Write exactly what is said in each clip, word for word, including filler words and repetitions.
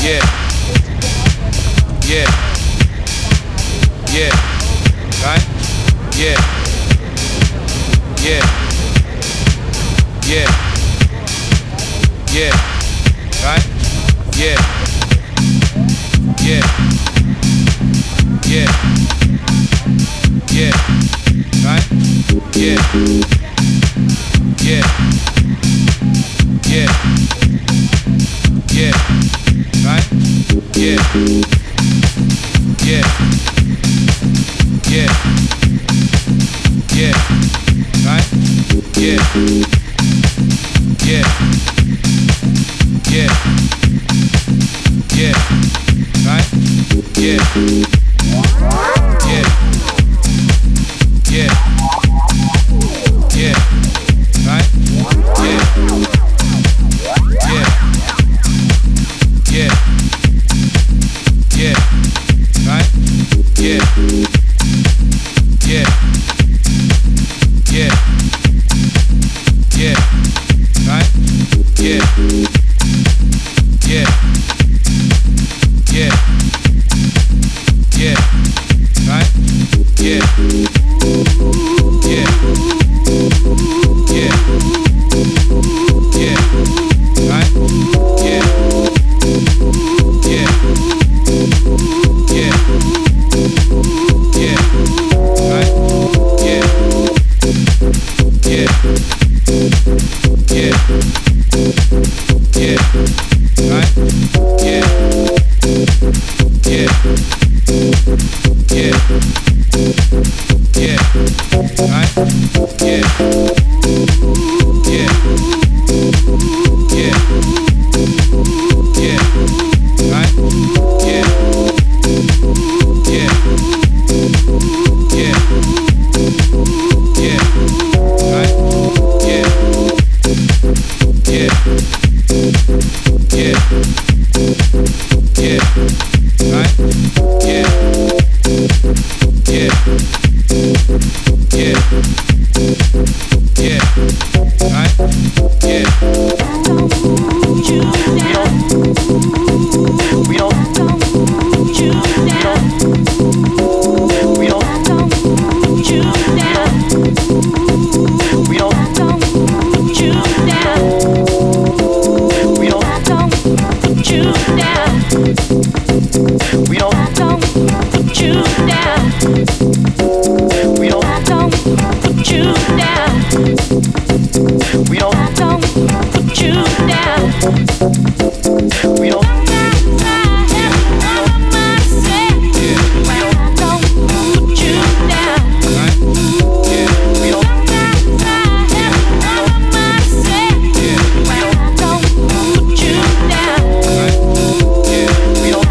Yeah. Yeah. Yeah. Right? Yeah. Yeah. Yeah. Yeah. Right? Yeah. Yeah. Yeah. Yeah. Right? Yeah. Yeah. Yeah. Yeah. Right? Yeah. Yeah. Yeah. Yeah. Right? Yeah. Yeah. Yeah. Yeah. Right? Yeah. Yeah. Yeah. Yeah. Right? Yeah. Yeah. Yeah. Yeah. Right? Yeah. Yeah. Yeah. Yeah. Right? Yeah. Yeah. Yeah. Yeah. Right? Yeah. Yeah. Yeah. Yeah. Right? Yeah. Yeah. Yeah. Yeah. Right? Yeah. Yeah. Yeah. Yeah. Right? Yeah. Yeah. Yeah. Yeah. Right? Yeah. Yeah. Yeah. Yeah. Right? Yeah. Yeah. Yeah. Yeah. Right? Yeah. Yeah. Yeah. Yeah. Right? Yeah. Yeah. Yeah. Yeah. Right? Yeah. You down. We don't. You down. We don't. You down. We don't. You down. We don't. You down. We don't. You down. We don't. You down. We don't. You down. We don't. Right? Yeah. We don't. Right? Yeah. We don't.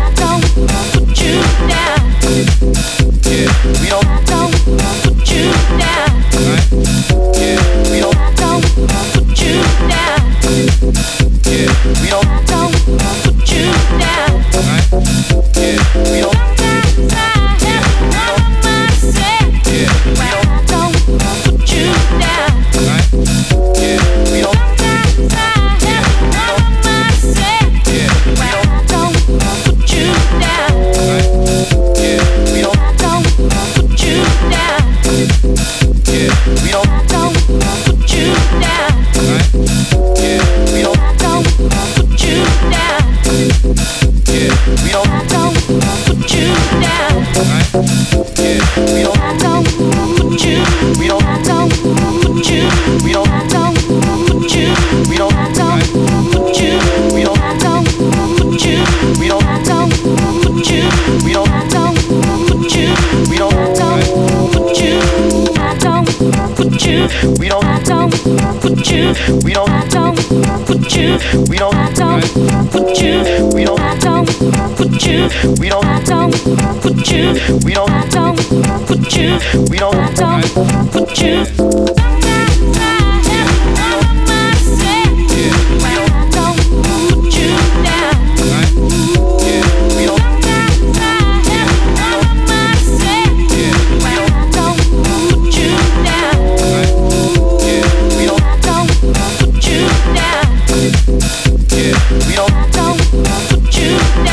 Yeah. We don't. Right? Yeah. We don't. Yeah. We don't. Right? Yeah. We don't. Yeah. Yeah. Right? Yeah. We don't. Yeah. Yeah. Right? Yeah. We don't. Yeah. We don't. Right? Yeah. We don't. Yeah. We don't. Right? Yeah. We don't. We don't. We don't. We don't. Right? We don't. We don't. We don't. We don't. We don't. We don't. We don't. Right? We don't. We don't. We don't. We don't. Right? You Yeah. down.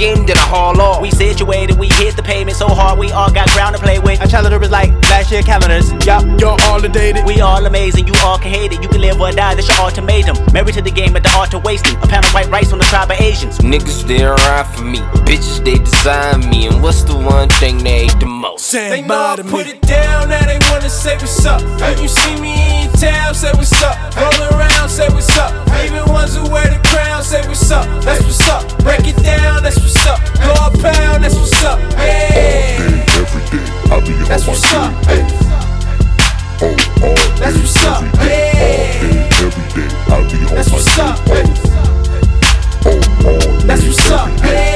weekend, then I haul off. We situated, we hit the pavement so hard, we all got ground to play with. Our childhood was like last year calendars. Yup. Y'all all dated. We all amazing, you all can hate it. You can live or die, that's your ultimatum. Married to the game at the art of wasting. A pound of white rice on the tribe of Asians. Niggas they ride for me, bitches they design me. And what's the one thing they hate the most? They know I put it down, now they wanna say what's up. When you see me in your town, say what's up. Roll around, say what's up. Even ones who wear the crown, say what's up. That's what's up. Break it down, that's what's up. Go a pound, that's what's up. All day, every day, I be on That's my what's up. game. Oh, all day, That's what's up. every day, all day, every day, I be on That's my what's up. game. Oh, all day, That's what's up. every day.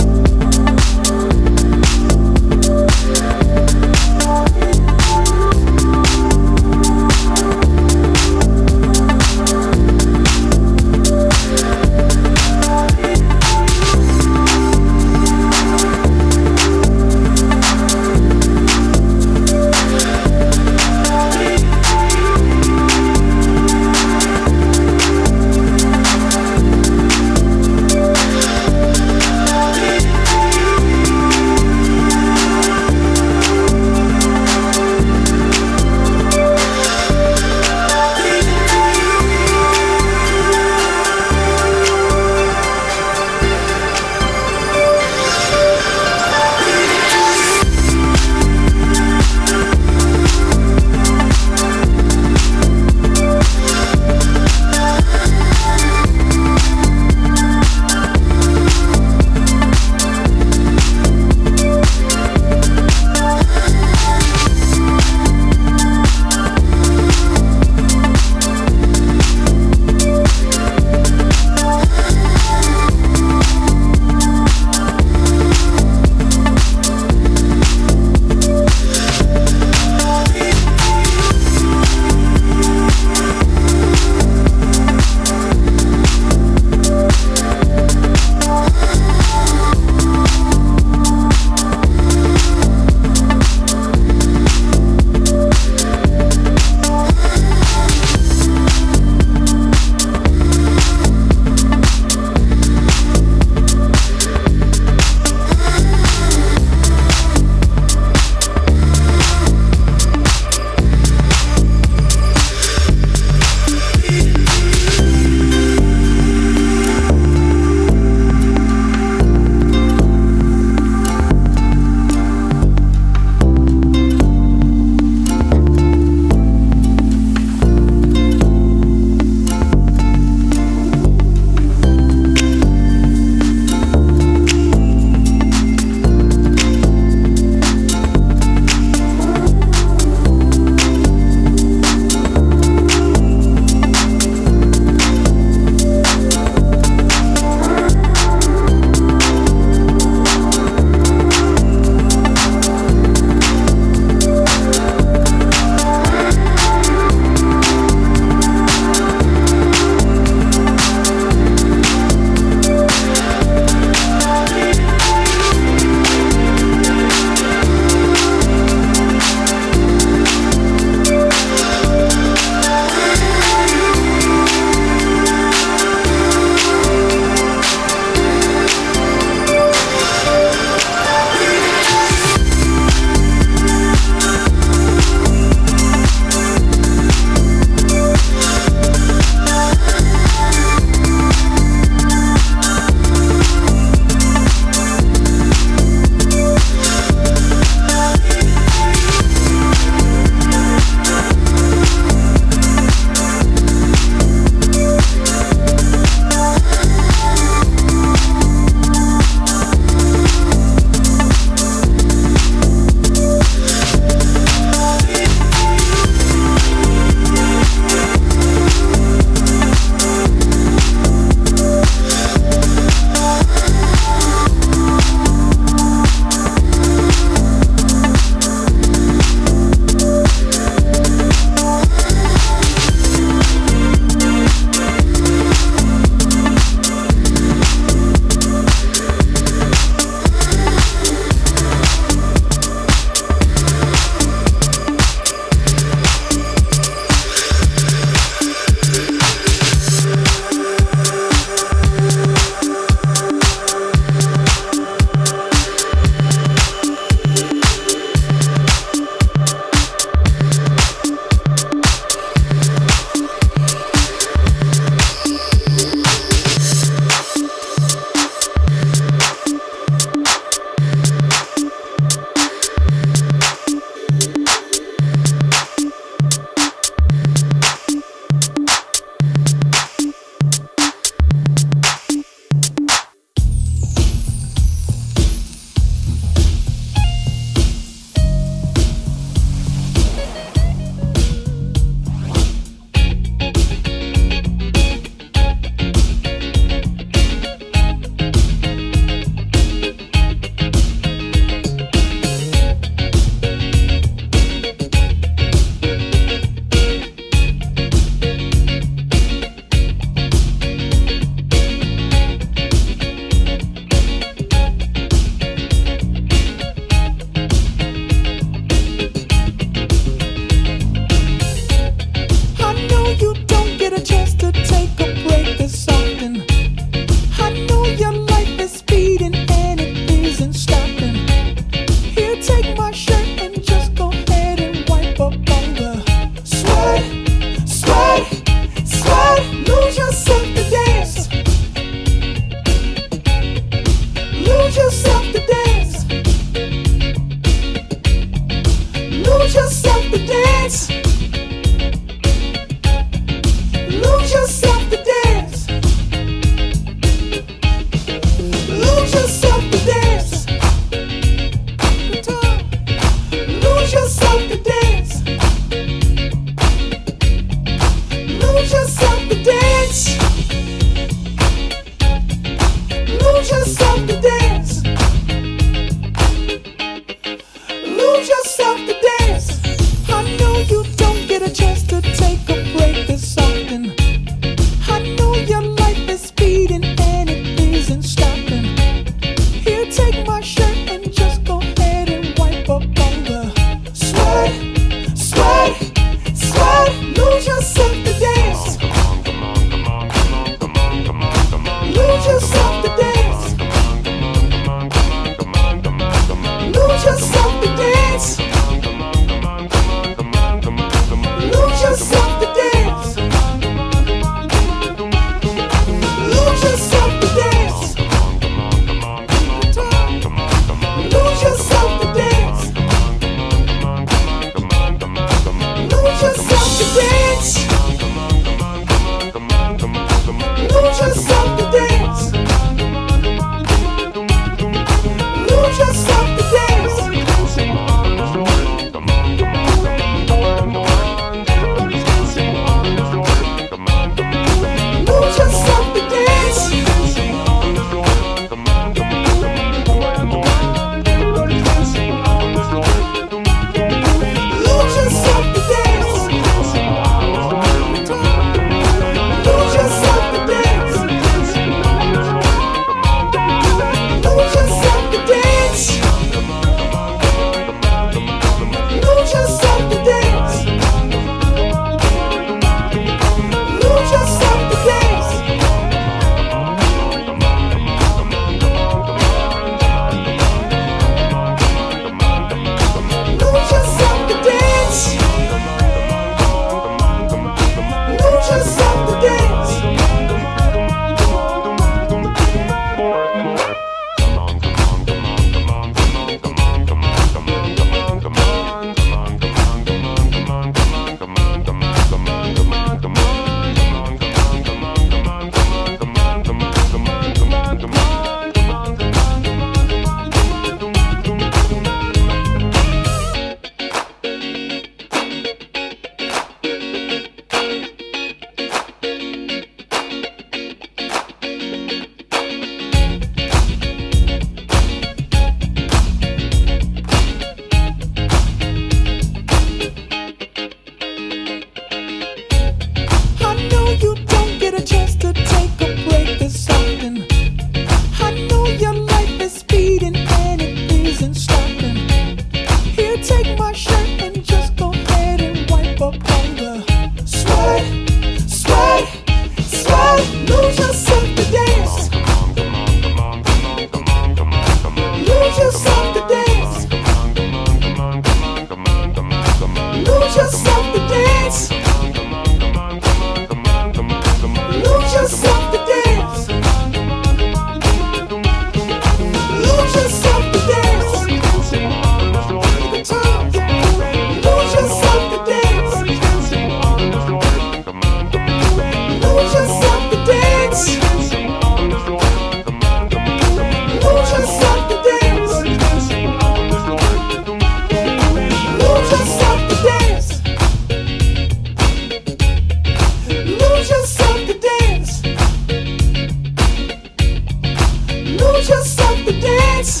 to dance.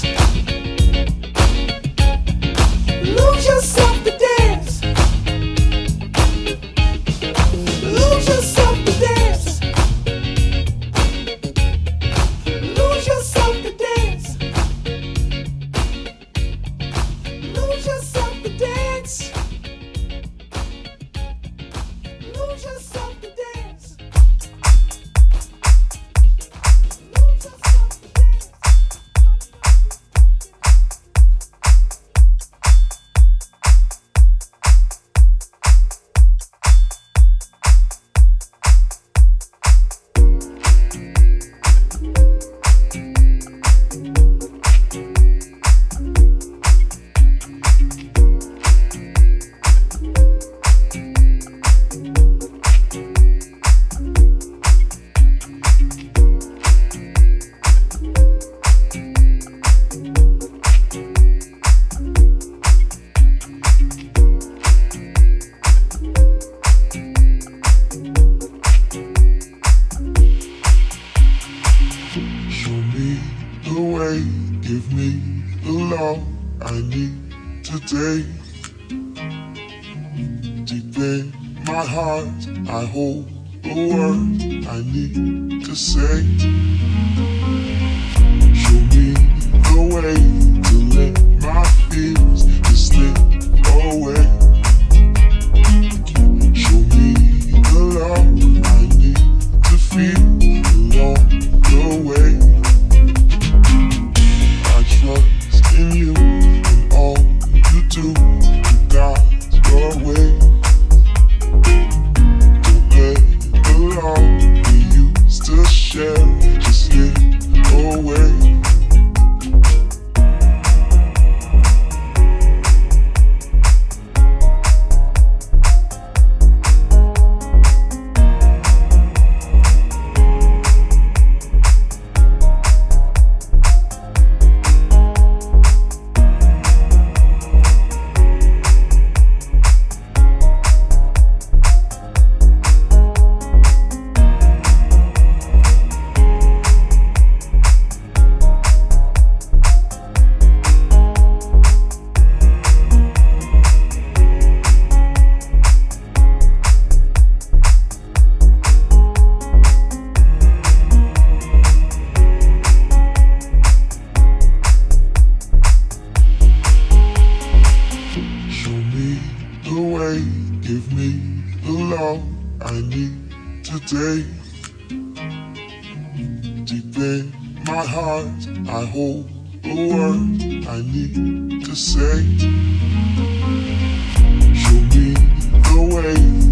Lose yourself to dance. Lose yourself to dance. Lose yourself to dance. Lose yourself to dance. Lose yourself to dance. Lose yourself to dance. Show me the way, give me the love I need today. Deep in my heart, I hold the word I need to say. Show me the way to let my fears just slip away. Show me the love I need to feel along the way. I trust in you and all you do. You got your way. Don't let the love we used to share just slip away. Show me the way, give me the love I need today. Deep in my heart, I hold the word I need to say. Show me the way.